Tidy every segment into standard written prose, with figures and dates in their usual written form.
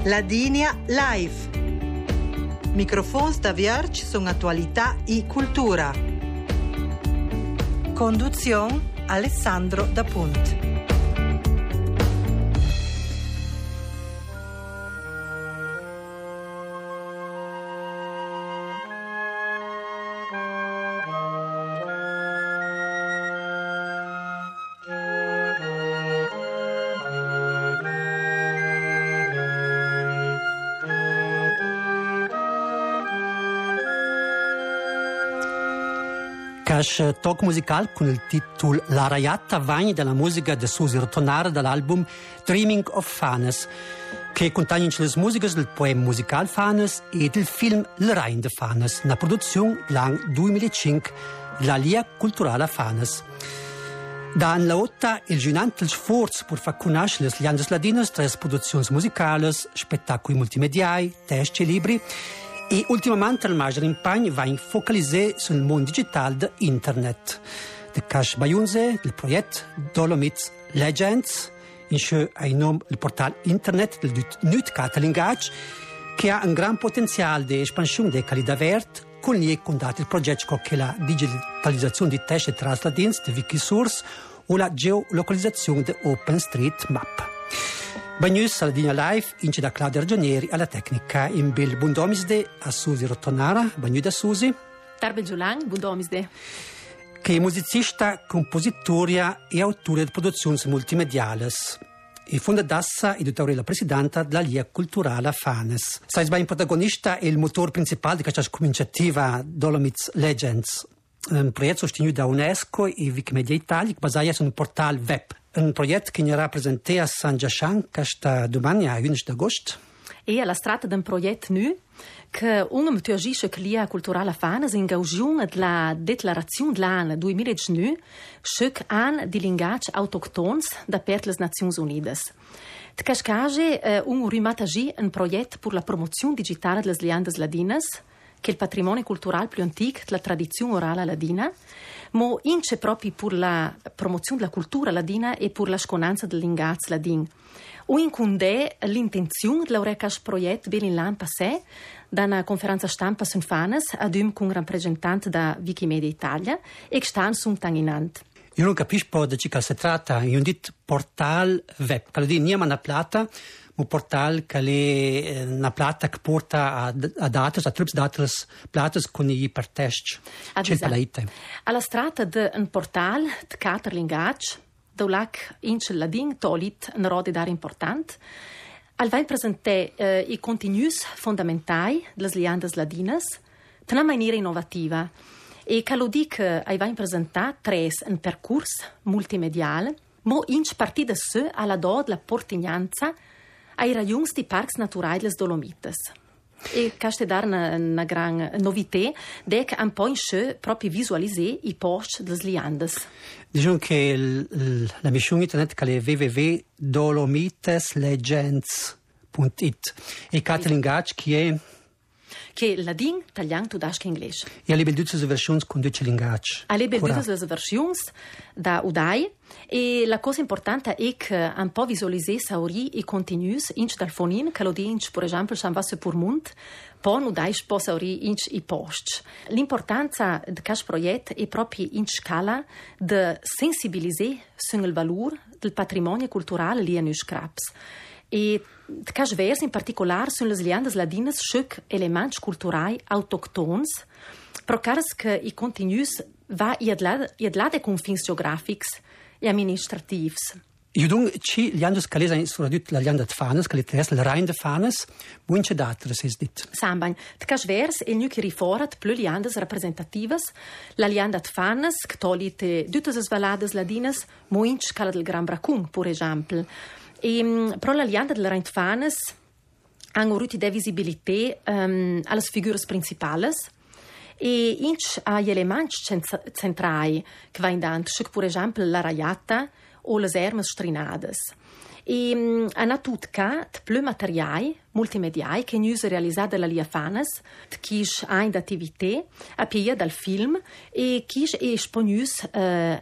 Ladinia Live. Microfons da Vierge sono attualità e cultura. Conduzione Alessandro Da Punt. Cash talk musical con il titolo La Raiata Vagni della musica di Susi Rotonara dall'album Dreaming of Fanes, che contiene le musiche del poema musical Fanes e del film Le Rein de Fanes, una produzione dell'anno 2005 della Lia Culturale Fanes. Da anni 80 il giunante sforzo per far conoscere le liandes ladinas tra le produzioni musicali, spettacoli multimediali, testi e libri. E ultimamente il maggior impegno va a focalizzare sul mondo digitale di internet. De Cash Bayunze, il progetto Dolomites Legends, in cui ha il nome il portale internet del Nut Catalingage, che ha un gran potenziale di espansione delle qualità verde, con gli condati il progetto che la digitalizzazione di testi transladins di Wikisource o la geolocalizzazione di OpenStreetMap. Bagnus alla Dina Live, ince da Claudia Ragionieri alla tecnica in Bill Bundomisde a Susi Rotonara. Bagnu da Susi. Tarbe Giulan, Bundomisde. Che è musicista, compositoria e autore di produzioni multimediali. E fondadassa e la presidente della Lia Culturale Fanes. Sai ben protagonista e il motore principale di questa cominciativa Dolomites Legends. Un progetto sostenuto da UNESCO e Wikimedia Italia che basato su un portale web. Un progetto che sarà presentato a San Giascian questa domani a 11 agosto. E alla strada di un progetto nuovo che agisce che l'Ia Culturale Fanes in gaugione della Declarazione dell'anno 2019 che anno di linguaggi autoctoni da per le Nazioni Unite. De cascage rimatagi un progetto per la promozione digitale delle liandes ladinas, che è il patrimonio culturale più antico della tradizione orale ladina, ma ince proprio per la promozione della cultura ladina e per la sconanza del linguaggio ladin. O in cundè l'intenzione di lavorare questo progetto ben in l'anno passato, da una conferenza stampa su Fanes, ad con un rappresentante da Wikimedia Italia, e che stanno su un tanginante. Io non capisco di che si tratta, io dico portal web, che vuol dire niente una plata, un portal che è una plata che porta a dati, a trips dati plate con i ipertest. C'è il palaite. Alla strada di un portal di quattro linguaggi, dove in ladin tolit una roda d'area importante, al vai presentare i contenuti fondamentali delle liandes ladinas in una maniera innovativa. E che lo dico, vai presentare un percorso multimediale, ma in partita su alla do della portignanza ai rajons di parchi naturali delle Dolomites. E questa è una gran novità, che un po' in sé proprio visualizzare i post delle liandes. Diciamo che la missione internet che è www.dolomiteslegends.it e Catalingage che ladin, italiano, tudasco e inglese. E alle bellezze versioni con due linguaggi. Alle bellezze versioni da Udai e la cosa importante è che un po' visualizzare sauri i contenuti inch dal fonin, che lo dice per esempio San Vasse per Mund, poi Udai può sauri inch i post. L'importanza di questo progetto è proprio in scala di sensibilizzare sul valore del patrimonio culturale lì a Nuscraps. E de cas vers in particular sono le liandes ladinas sciuc elements culturali autoctons, pro caras che i contenuti va iadla de confins geografics e amministrativs. Io dunque ci liandes che lesa soprattutto la lianda de Fanes, che l'iteressa la Rein de Fanes, bunce d'altre si dit. Sambain, de cas vers il nu che riforat plu liandes rappresentativas, la lianda de Fanes, che tolite tutte le valades ladinas, muinch cala del Gran Bracun, per esempio. E però la lianda della Rein de Fanes hanno avuto di visibilità alle figure principali e inch agli elementi centrali che vanno dando, per esempio la raiata o le ermes strinades. E hanno tutti più materiali multimediali che hanno realizzato dalla Lia Fanes, che hanno attività a piedi dal film e che è esponuti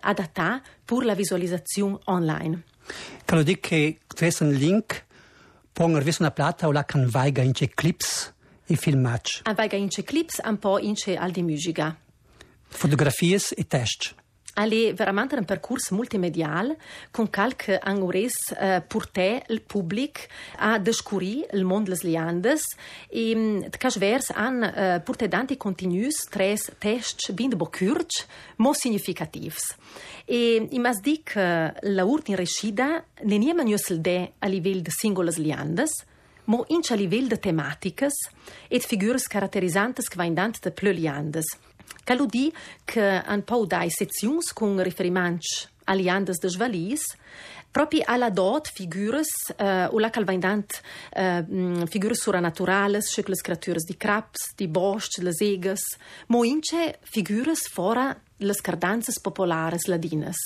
adattati per la visualizzazione online. Quello dice che c'è un link Ponger vis una plata o la can vaiga in clips e filmage. An vaiga in clips, un po' in al di musica. Fotografie e test. È veramente un percorso multimedial con qualche angures portè il pubblico a scoprire il mondo delle liandes e casvers han portè tanti contenuti tres tests bin bo curts mo significativs. E i mas dic la urt in rescida ne niema niusel de a livello de singolas liandes, mo inch a livello de tematicas et figures caratterizzantes che vain dant de plö liandes. Callo di che un po' dai sezions con riferimento a liandes de Jvalis, proprio alla dot figures o la calvaindant figures suranaturales, sche les creatures di craps, di bosch, les egas, mo ince figures fora les cardanzas populares ladinas.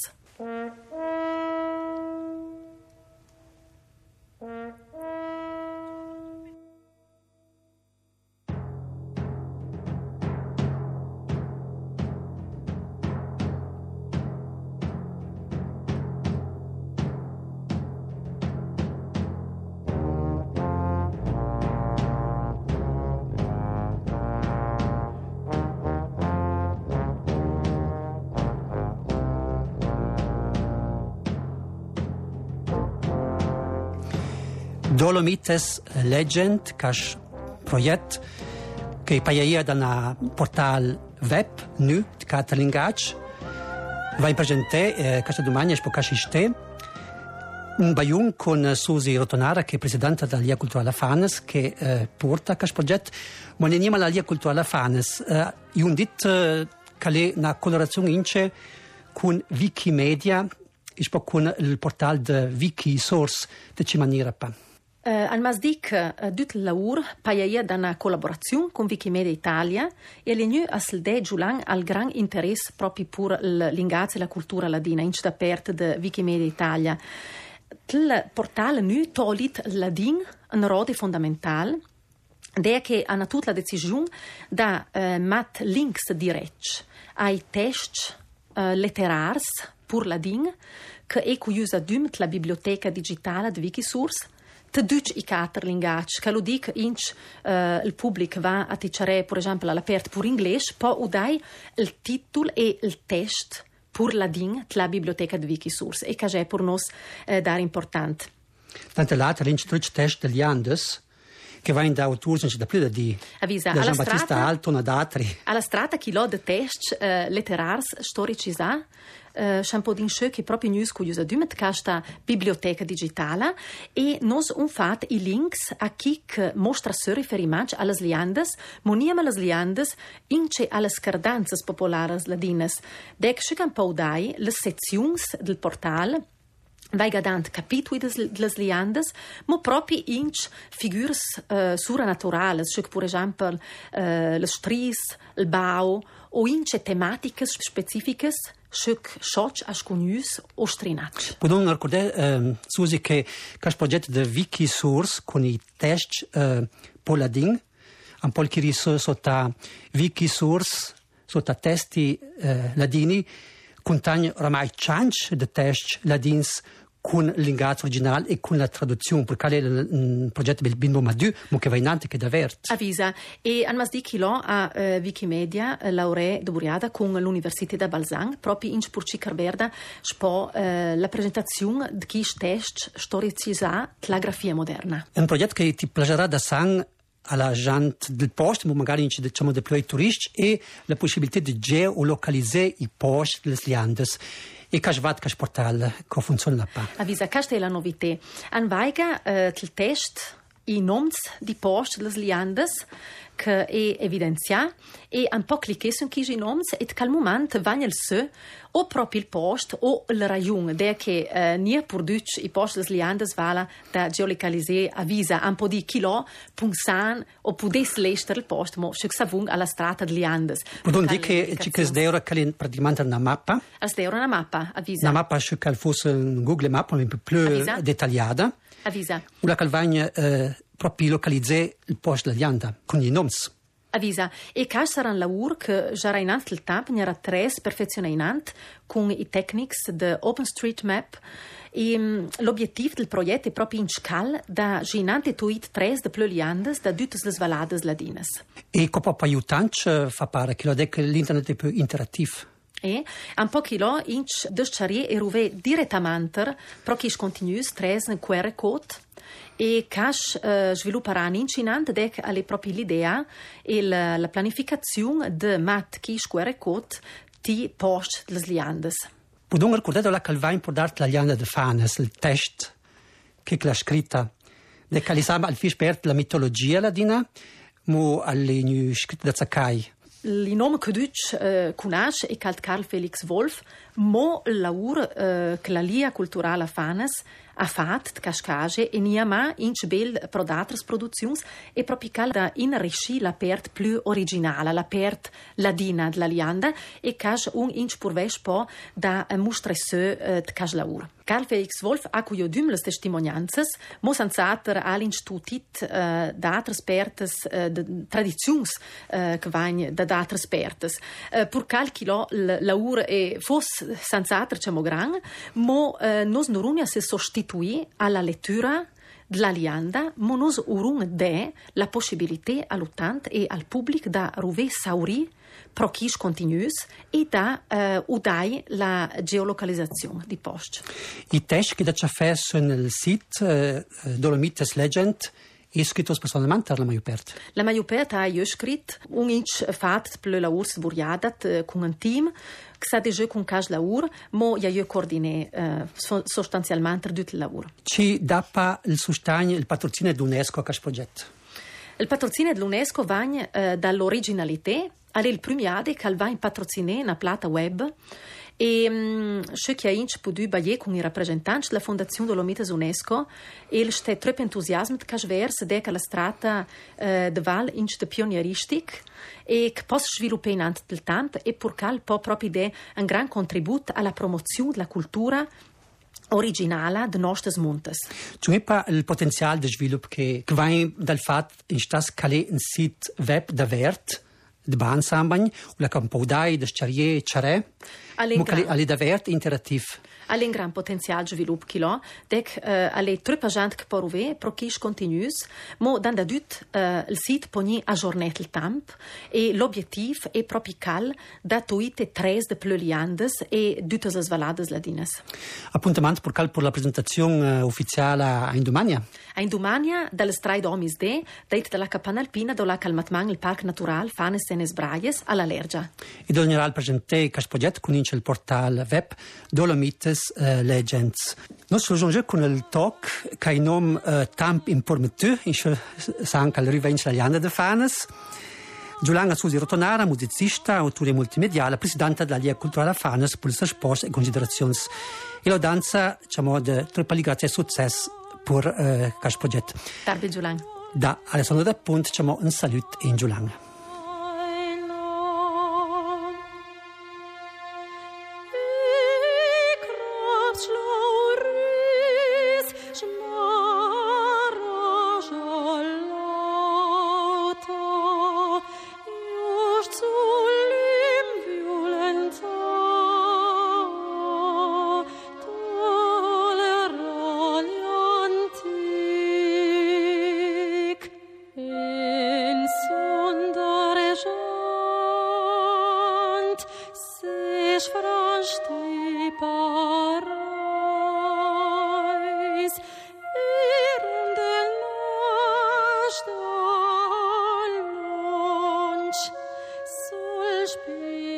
Dolomites Legend, cash project che paia da una portal web nu di Catalingach va in presente questa domani è casiste un baiun con Susi Rotonara che è presidente della Lia Culturale Fanes che porta questo progetto ma ne niema la Lia Culturale Fanes un dit che è una collaborazione ince con Wikimedia e con il portal di Wikisource di Cimaniera pa. Al Masdic dut laur paia da una collaborazione con Wikimedia Italia e l'egnu a selde giulan al gran interesse proprio per l'ingazio e la cultura ladina in da perte di Wikimedia Italia. Il portale nu tolit ladin un rode fondamentale è che hanno tutta la decisione da mat links direct ai test letterars pur ladin che è curiusa dumt la biblioteca digitale di Wikisource te duc i cater lingac, che lo dic inch il pubblic va a ticciare, per esempio, all'aperto pur inglese, poi udai il titolo e il test pur ladin la biblioteca di Wikisource e che è per noi dar importante. Tante l'altra l'inch test degli Andes che va in da autori da più di avvisa da Gian Battista Alto na d'altri. Alla strada chi lo de test letterars storici sa un din schö che proprio news curiosa dumet questa biblioteca digitale e nos un fat i links a chi che mostra se riferimento alle liandes moniam alle liandes ince alle scardanzas popolares ladinas dec schö un po' dai le sezions del portal vai gadant capitui des liandes, mo proprio inch figures suranaturales, cioè per esempio le stris, il bau, o ince tematiche specifiche, cioè soc asconius o strinac. Podem ricordare, Susi, che questo progetto di Wikisource con i test poladin, un po' che sotto Wikisource, sotto testi ladini, contiene ormai 100 di test ladins con l'ingaggio originale e con la traduzione, perché è un progetto del Bimbo Madu, ma che va in avanti, che è davvero. Avvisa. E al Masdi Chilo a Wikimedia laurea doburiata con l'Università di Balzan, proprio in Spurci Carverda, spo la presentazione di chi test storicizza la grafia moderna. È un progetto che ti piacerà da sang alla gente del posto, ma magari diciamo di più ai turisti, e la possibilità di geolocalizzare i posti delle liandes. E che va che portale che funziona pa. Avvisa, questa è la novità. An vaiga il test i nomi di posti delle liandes che è evidenziato e un po' cliccare su questi nomi e al momento vanno il se o proprio il posto o il rayon da che nie produce i posti delle liandes vala da geolocalizzare avvisa un po' di chilo punsan o potesse l'estero il posto ma se savung alla strada di liandes. Podem dire che ci che sdeura che è praticamente una mappa. Sdeura una mappa, avvisa. Una mappa che fosse un Google Map un po' più dettagliata. Avvisa. Una calvagna proprio localizzare il posto della lianda con i nomi. Avvisa, e che sarà un lavoro che già in anno del tempo ne era tre perfezionamenti con i techniques di OpenStreetMap e l'obiettivo del progetto è proprio in scala da ginante tuit tre de pleuliandes da tutte le valades ladines. E come può aiutare fa pare che l'internet è più interattivo? E un po' che lo inch desciarie e ruve direttamente proprio continuus tres in QR code e cash svilupperanno incinante dec alle proprie l'idea e la pianificazione de mat chi QR code ti post les liandes. Podem recordare la calvain per dart la lianda de Fanes, il test che l'ha scritta. De calisama al fisch pert la mitologia ladina, mo alle nu scritta da Zakai. Il nome che tu conosci è Carl Felix Wolf, mo il lavoro che la Lia Culturale Fanes ha fatto di cascage e niama in bel pro d'altre produzioni e proprio da inrichi la pert più originale, la pert ladina della lianda e cash un inch purvesh po da mostresse di cas lavoro. Carl Felix Wolf ha cui odum le testimonianze, mo sanzater all'inch tutit da altre pertes de tradizioni che vanno da altre pertes. Pur calchilo il lavoro e fosse sanzater c'è gran, mo nos norunia se sostituì alla lettura della lianda, ma nos urun de la possibilità all'utente e al pubblico da ruve sauri prochis continuus e da udai la geolocalizzazione di post. I test che da c'è fesso nel sito Dolomites Legend è scritto personalmente la maggior parte. La maggior parte ha io scritto un inch fatto per la urs buriadat con un team che sa déjà con cas lavoro, ma io coordine sostanzialmente tutto il lavoro. Ci dà il sostegno, il patrocinio dell'UNESCO a questo progetto? Il patrocinio dell'UNESCO va dall'originalità alle premiate che va in patrocinare una plata web e ce che ha inch potuto bagliare con i rappresentanti della Fondazione Dolomites UNESCO e il sta troppo entusiasmo che verso de la strada de Val inch de pionieristic e che possa sviluppare in anno del tempo e purché può proprio dare un gran contributo alla promozione della cultura originale de nostres montes. C'è pas il potenziale di sviluppo che va dal fatto in stas calé un sito web da vert de bansambagn la campoudai de charrier charre alle da vert interattiv. Alle un gran potenziale di sviluppo che lo, dec alle troppa gente che può ruvere, prochis continuus, ma dan da dut il sito poni aggiornet il tempo e l'obiettivo è proprio cal da tuite tres de pleuliandes e tutte le valades ladinas. Appuntamento per la presentazione ufficiale a Indomania? A Indomania, dalle strade Omis de, date dalla Campana Alpina, dove calmatman il Parco Natural Fanes Senes Braies alla Lergia. E dove general presente questo progetto con il portale web Dolomites Legends. Noi soggiungiamo con il talk che il nome Tamp Informatiu, anche al riva italiana de Fanes. Giuliana Susi Rotonara, musicista, autore multimediale, presidente della Lia Culturale Fanes per le sue risposte e considerazioni. E la danza, diciamo, di troppa grazie e successo per questo progetto. Tarbe Giuliana. Da Alessandro da Punt, diciamo, un saluto in Giuliana. Spiel